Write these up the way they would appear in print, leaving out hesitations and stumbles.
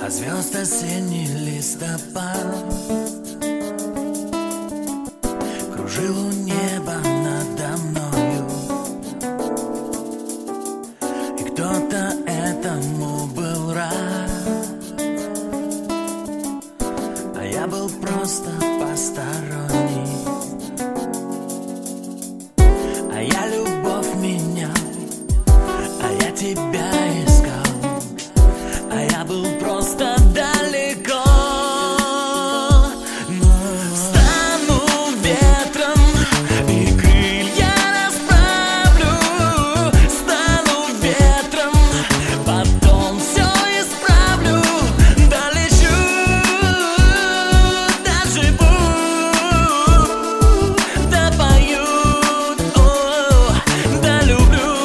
А звезд осенний листопад кружил у неба надо мною, и кто-то этому был рад, а я был просто посторонний. А я любовь менял, а я тебя искал, а я был просто далеко. Но стану ветром и крылья расправлю, стану ветром, потом все исправлю, долечу, доживу, допою, долюблю.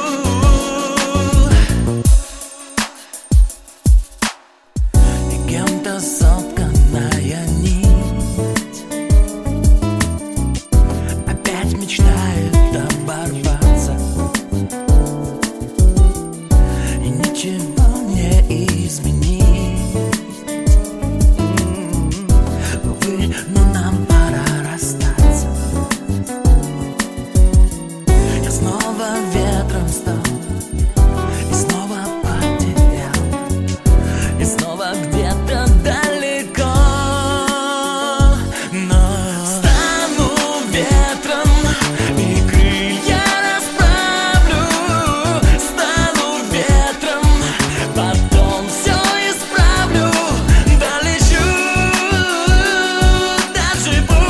И кем-то сотканная нить опять мечтает оборваться, и ничего не изменить. Увы, но нам пора расстаться. Я снова ветром стал и снова потерял, и снова где-то далеко. Но стану ветром и крылья расправлю, стану ветром, потом все исправлю, долечу, доживу,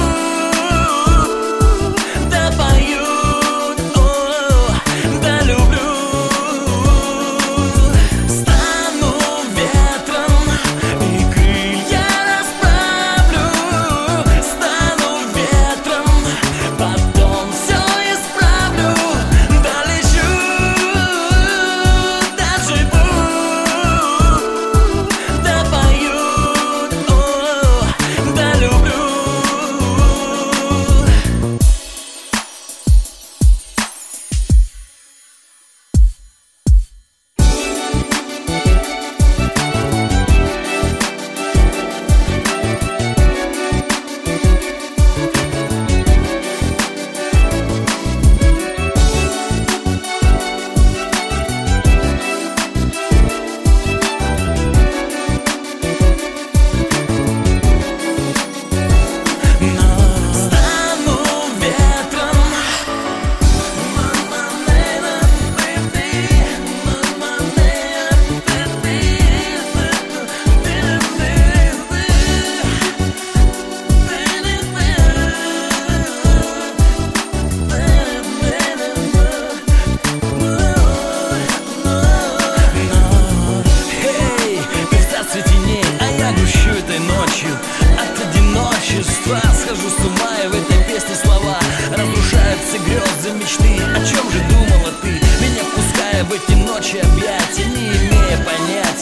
допою, долюблю. Стану ветром и крылья расправлю, стану ветром, потом все исправлю, долечу, доживу, допою, долюблю. Стану ветром, Эй, ты в царстве теней, а я гущу этой ночью. От одиночества схожу с ума, и в этой песне слова разрушаются грезы, мечты. О чем же думала ты, меня впуская в эти ночи объятия, не имея понятия?